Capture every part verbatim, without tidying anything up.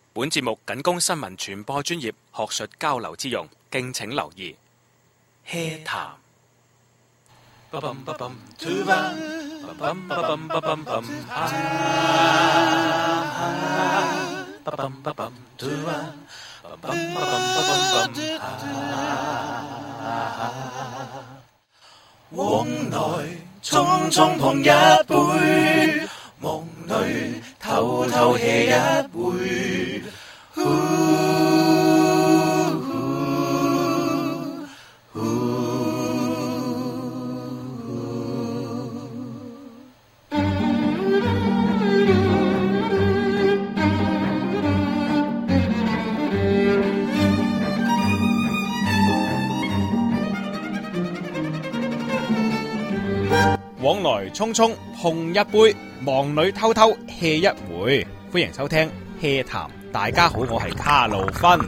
本節目僅供新聞傳播專業學術交流之用，敬請留意。HEA 談。往來匆匆碰一杯，夢裏偷偷 hea 一回。往來匆匆碰一杯，忙裏偷偷 hea 一回。歡迎收聽 HEA 談，大家好，我係卡路芬。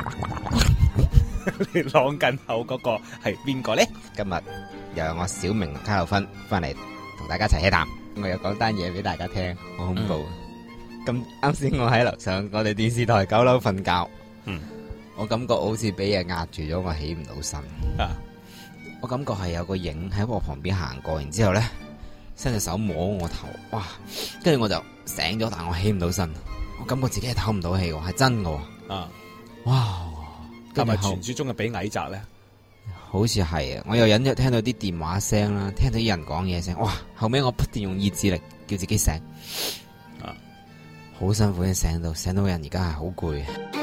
你朗近口嗰個係邊個咧？ 今日又有我小明卡路芬翻嚟同大家一齊 HEA 談。我又講單嘢俾大家聽，好恐怖。咁啱先我喺樓上我哋電視台九樓瞓覺，嗯，我感覺好似俾嘢壓住咗，我起唔到身啊。我感覺係有個影喺我旁邊行過，然之後咧伸隻手摸我頭，哇！跟住我就醒咗，但我起唔到身，我感覺自己係唞唔到氣，係真嘅。啊！哇！ 係咪傳說中嘅俾矮宅咧？ 好似係啊！我又隱約聽到啲電話聲啦，聽到啲人講嘢聲，哇！後尾我不斷用意志力叫自己醒，啊！好辛苦先醒到，醒到人而家係好攰。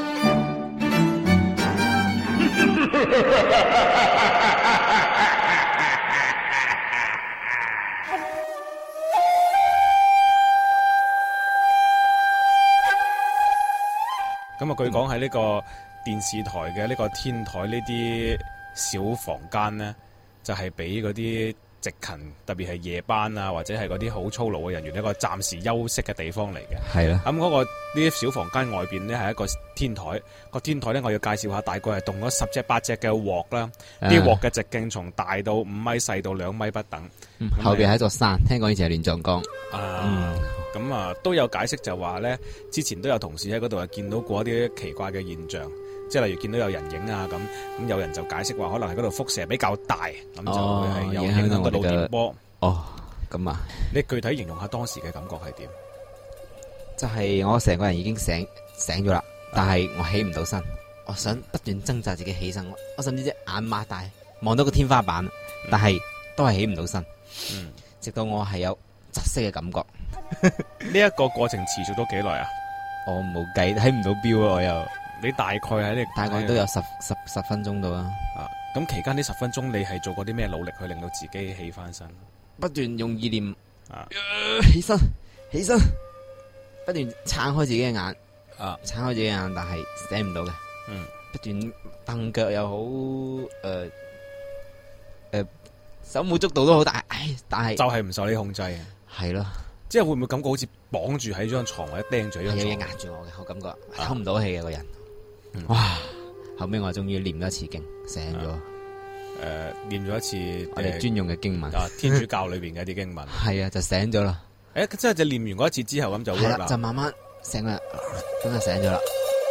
咁啊，據講喺呢個電視台嘅呢個天台呢啲小房間咧，就係俾嗰啲值勤，特別係夜班啊，或者係嗰啲好操勞嘅人員一個暫時休息嘅地方嚟嘅。 係啦。 咁嗰個呢啲小房間外邊咧係一個天台，個天台咧我要介紹下，大概係動咗十隻八隻嘅鑊啦。啲鑊嘅直徑從大到五米，細到兩米不等。 嗯、後邊係一座山，聽講以前係亂葬崗。 啊。嗯咁啊，都有解釋就話咧，之前都有同事喺嗰度係見到過一啲奇怪嘅現象，即係例如見到有人影啊咁，咁有人就解釋話可能係嗰度輻射比較大，咁就會係有影響到腦電波。 哦，咁啊， 你具體形容下當時嘅感覺係點？ 就係我成個人已經醒醒咗啦，但係我起唔到身，我想不斷掙扎自己起身，我甚至隻眼擘大望到個天花板，但係都係起唔到身。嗯，直到我係有窒息嘅感覺。 呢一個過程持續咗幾耐啊？ 我冇計，睇唔到表啊！我又你大概喺呢？ 大概都有十十十分鐘到啦。 啊，咁期間呢十分鐘你係做過啲咩努力去令到自己起翻身？ 不斷用意念啊， 起身，起身，不斷撐開自己嘅眼啊，撐開自己嘅眼，但係醒唔到嘅。嗯，不斷蹬腳又好，誒、呃、誒、呃，手舞足蹈都好，但係，唉，但係就係唔受你控制嘅。 係咯。 即係會唔會感覺好似綁住喺張床或者釘住喺張床？ 有嘢壓住我嘅，我感覺唞唔到氣嘅個人。嗯、哇！後尾我終於念咗一次經，醒咗。誒、 呃，念咗一次我哋專用嘅經文， 啊，天主教裏邊嘅一啲經文。 係啊，就醒咗啦。 誒、欸，即係就念完嗰一次之後咁就會啦， 就慢慢醒啦，咁就醒咗啦。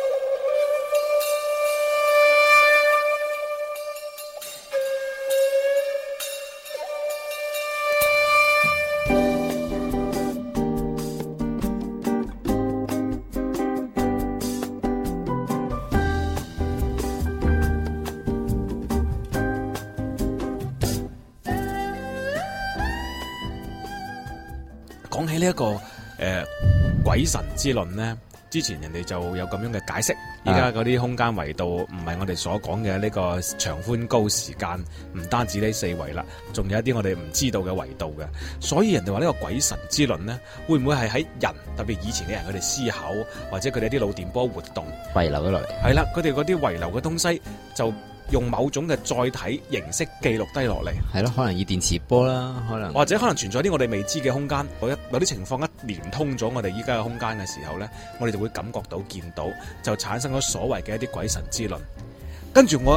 講起呢、這、一個誒、呃、鬼神之論呢，之前人哋就有咁樣嘅解釋。依家嗰啲空間維度唔係我哋所講嘅呢個長寬高時間，唔單止呢四維啦，仲有一啲我哋唔知道嘅維度嘅。所以人哋話呢個鬼神之論呢，會唔會係喺人特別以前嘅人佢哋思考，或者佢哋啲腦電波活動遺留咗落嚟？ 係啦，佢哋嗰啲遺留嘅東西就用某種嘅載體形式記錄低落嚟， 係咯，可能以電磁波啦，可能或者可能存在啲我哋未知嘅空間。有一有啲情況一連通咗我哋依家嘅空間嘅時候咧，我哋就會感覺到見到，就產生咗所謂嘅一啲鬼神之論。跟住我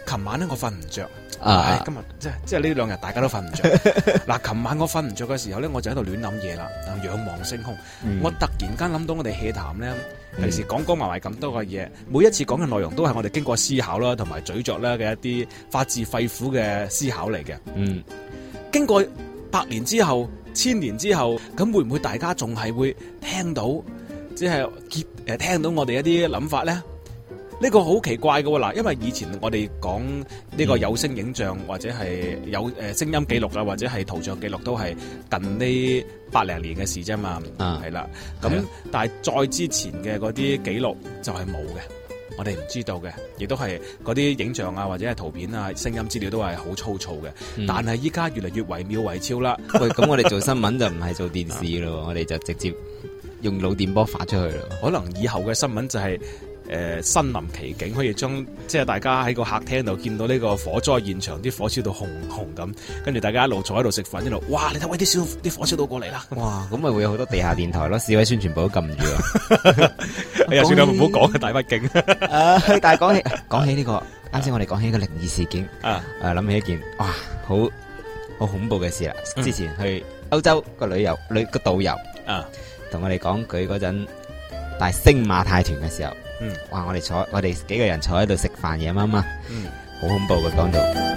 琴晚咧我瞓唔着。 啊！ 今日即係即係呢兩日大家都瞓唔着。嗱，琴晚我瞓唔着嘅時候咧，我就喺度亂諗嘢啦，仰望星空。 嗯、 我突然間諗到我哋戲談咧，平時講講埋埋咁多嘅嘢，每一次講嘅內容都係我哋經過思考啦，同埋咀嚼啦嘅一啲發自肺腑嘅思考嚟嘅。 嗯，經過百年之後、千年之後，咁會唔會大家仲係會聽到，即係結誒聽到我哋一啲諗法咧？呢個好奇怪嘅喎，嗱，因為以前我哋講呢個有聲影像或者係有誒聲音記錄啊，或者係圖像記錄，都係近呢百零年嘅事啫嘛，係啦。咁但係再之前嘅嗰啲記錄就係冇嘅，我哋唔知道嘅，亦都係嗰啲影像啊或者係圖片啊、聲音資料都係好粗糙嘅。嗯、但係依家越嚟越惟妙惟肖啦。 喂，咁我哋做新聞就唔係做電視咯，我哋就直接用腦電波發出去咯。 可能以後嘅新聞就係、是。誒、呃，身臨其境，可以將即係大家喺個客廳度見到呢個火災現場，啲火燒到紅紅咁，跟住大家一路坐喺度食飯，一路哇！你睇喂啲燒啲火燒到過嚟啦！ 哇！咁咪會有好多地下電台咯，市委宣傳部都撳住啊！ 哎呀，算啦，唔好講大畢竟。 誒，但係講起講起呢、這個，啱先我哋講起一個靈異事件啊，誒、啊，諗起一件哇，好好恐怖嘅事啦！嗯、之前去歐洲個旅遊旅個導遊啊，同我哋講佢嗰陣帶星馬泰團嘅時候。嗯，哇！我哋坐，我哋幾個人坐喺度食飯夜媽媽，嗯，好恐怖嘅講到。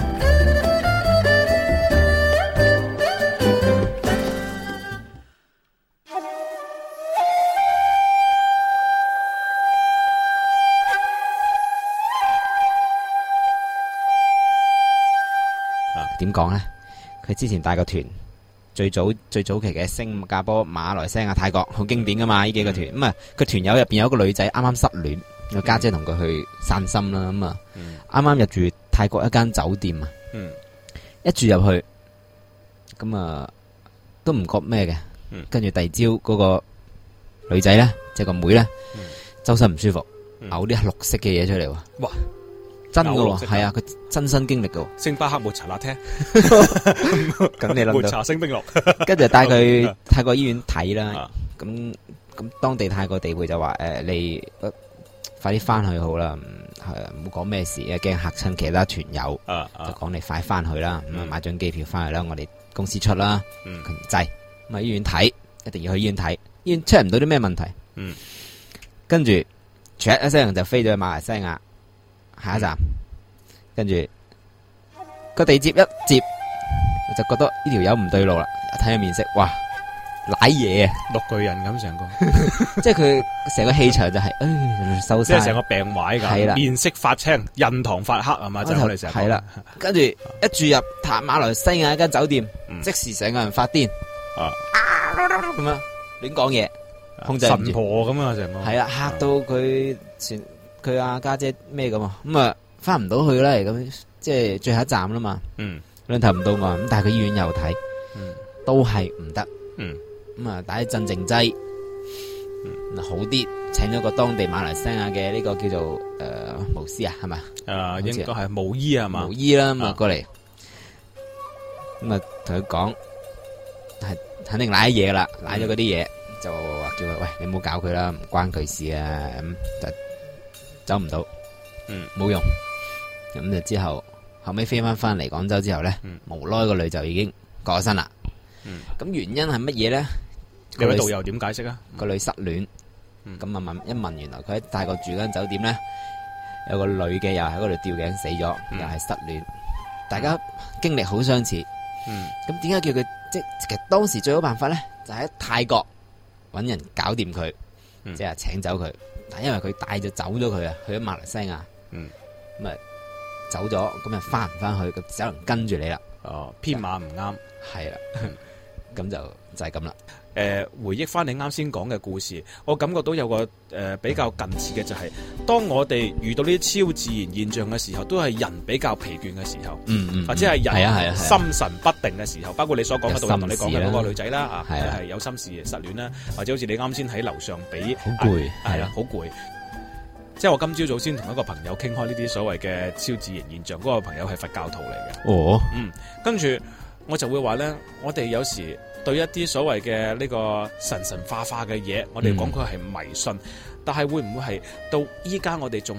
啊，點講咧？佢之前帶個團。最早最早期嘅新加坡、馬來西亞、泰國好經典噶嘛？呢幾個團咁啊，佢團友入邊有一個女仔啱啱失戀，個家姐同佢去散心啦，咁啊，啱啱入住泰國一間酒店啊，嗯、一住入去咁啊都唔覺咩嘅，跟住第二朝嗰個女仔咧，即係個妹咧，嗯、周身唔舒服，嘔啲綠色嘅嘢出嚟喎，哇！真噶喎，係啊，佢親身經歷噶。 星巴克抹茶拿鐵， 咁你諗到抹茶星冰樂， 跟住帶佢泰國醫院睇啦。咁咁當地泰國地會就話誒，你快啲翻去好啦，係啊，唔好講咩事，驚嚇親其他團友。就講你快翻去啦，咁啊買張機票翻去啦，我哋公司出啦。佢唔制，咁啊醫院睇，一定要去醫院睇，醫院出唔到啲咩問題。跟住唰一聲就飛咗去馬來西亞。下一站，跟住個地接一接，我就覺得呢條友唔對路啦。睇下面色，哇，瀨嘢啊， 綠巨人咁成個， 即係佢成個氣場就係、是，誒，收晒， 即係成個病壞咁，係啦，面色發青，印堂發黑係嘛，就我哋成日係啦。跟住一住入塔馬來西亞一間酒店，嗯、即時成個人發癲啊，咁樣亂講嘢，控制唔住神婆咁啊，成個係啦，嚇到佢全。佢阿家姐咩咁啊？咁啊翻唔到去啦，咁即係最後一站啦嘛。嗯，兩頭唔到岸，咁但係佢醫院又睇，嗯，都係唔得。嗯，咁啊打啲鎮靜劑，嗯，好啲，請咗個當地馬來西亞嘅呢個叫做誒巫師啊，係咪？ 誒，應該係巫醫啊嘛。 巫醫啦，咁啊過嚟，咁啊同佢講，係肯定瀨嘢啦，瀨咗嗰啲嘢，就話叫佢喂，你唔好搞佢啦，唔關佢事啊，咁就。走唔到，嗯，冇用，咁就之後後尾飛翻翻嚟廣州之後咧，嗯、無奈個女就已經過咗身啦。咁、嗯、原因係乜嘢咧？ 各位導遊點解釋啊？ 個女失戀，咁啊、嗯、問一問，原來佢喺泰國住間酒店咧，有個女嘅又喺嗰度吊頸死咗，嗯、又係失戀，大家經歷好相似。咁點解叫佢即係其實當時最好辦法咧，就喺、是、泰國搵人搞掂佢，即係、嗯、請走佢。但因為佢帶咗走咗佢啊，去咗馬來西亞，嗯，咁啊走咗，咁啊翻唔翻去，咁只能跟住你啦。 哦，編碼唔啱， 係啦，咁就就係咁啦。 誒、呃，回憶翻你啱先講嘅故事，我感覺到有個誒、呃、比較近似嘅就係、是，當我哋遇到呢啲超自然現象嘅時候，都係人比較疲倦嘅時候，嗯嗯，或者係人心神不定嘅時候，包括你所講嘅導遊同你講嘅嗰個女仔啦，啊，係係有心事失戀啦，或者好似你啱先喺樓上俾好攰， 係啦，好攰。即係我今朝早先同一個朋友傾開呢啲所謂嘅超自然現象，嗰、那個朋友係佛教徒嚟嘅。哦，嗯，跟住我就會話咧，我哋有時對一啲所謂嘅呢個神神化化嘅嘢，我哋講佢係迷信，嗯、但係會唔會係到依家我哋仲係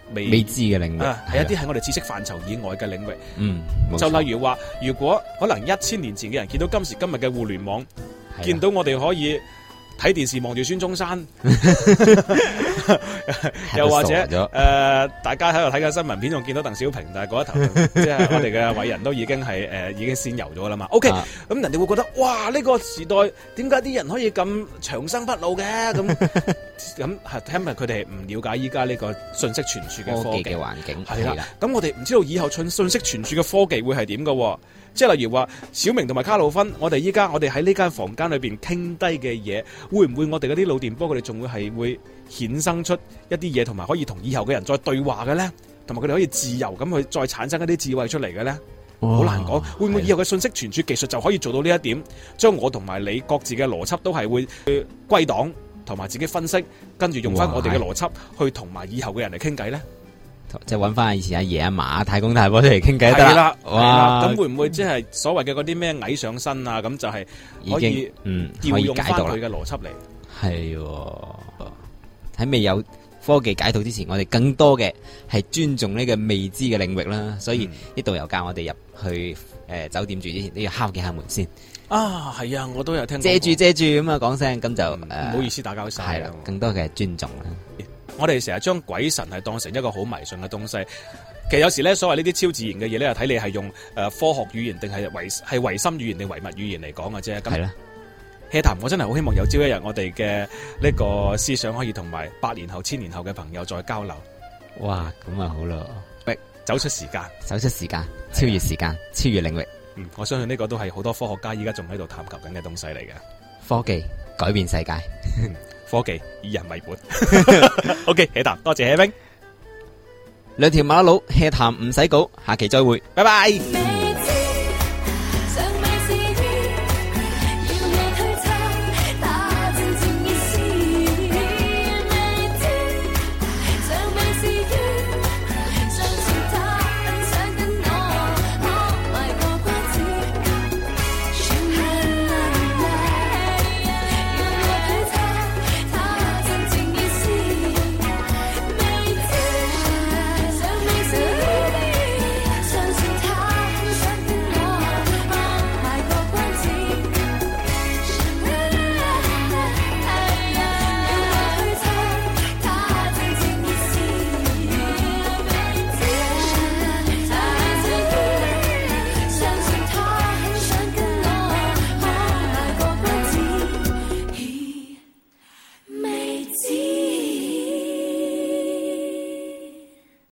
未未知嘅領域， 啊，係一啲喺我哋知識範疇以外嘅領域。 嗯， 就例如話，如果可能一千年前嘅人見到今時今日嘅互聯網，見到我哋可以睇電視望住孫中山，又或者誒、呃，大家喺度睇緊新聞片，仲見到鄧小平，但係嗰一頭即係我哋嘅偉人都已經係誒、呃、已經仙遊咗啦嘛。OK，咁、啊、人哋會覺得哇，呢、這個時代點解啲人可以咁長生不老嘅？咁咁係因為佢哋唔了解依家呢個信息傳輸嘅科技嘅環境係啦。咁我哋唔知道以後信信息傳輸嘅科技會係點嘅。即係例如話，小明同埋卡路芬，我哋依家我哋喺呢間房間裏邊傾低嘅嘢，會唔會我哋嗰啲腦電波佢哋仲會係會衍生出一啲嘢，同埋可以同以後嘅人再對話嘅咧？同埋佢哋可以自由咁去再產生一啲智慧出嚟嘅咧？好難講，會唔會以後嘅信息傳輸技術就可以做到呢一點，將我同埋你各自嘅邏輯都係會歸檔，同埋自己分析，跟住用翻我哋嘅邏輯去同埋以後嘅人嚟傾偈咧？ 即係揾翻以前阿爺阿嫲太公太婆出嚟傾偈得啦，哇！咁會唔會即係所謂嘅嗰啲咩蟻上身啊？咁就係可以嗯調用翻佢嘅邏輯嚟。 係喺未有科技解讀之前，我哋更多嘅係尊重呢個未知嘅領域啦。所以呢導遊教我哋入去誒、呃、酒店住之前都要敲幾下門先。 啊，係啊，我都有聽過。 遮住遮住咁啊，講聲咁就唔、 呃、好意思打攪晒。 係啦，更多嘅係尊重啦。 我哋成日將鬼神係當成一個好迷信嘅東西，其實有時咧，所謂呢啲超自然嘅嘢咧，睇你係用誒科學語言定係唯係唯心語言定唯物語言嚟講嘅啫。咁係啦，hea 談我真係好希望有朝一日我哋嘅呢個思想可以同埋八年後、千年後嘅朋友再交流。 哇，咁啊好咯， 走出時間， 走出時間，超越時間，超越領域。 嗯，我相信呢個都係好多科學家依家仲喺度探求緊嘅東西嚟嘅。 科技改變世界。 科技以人為本。OK，hea 談，多謝 hea 冰。 兩條馬佬 hea 談唔使稿，下期再會，拜拜。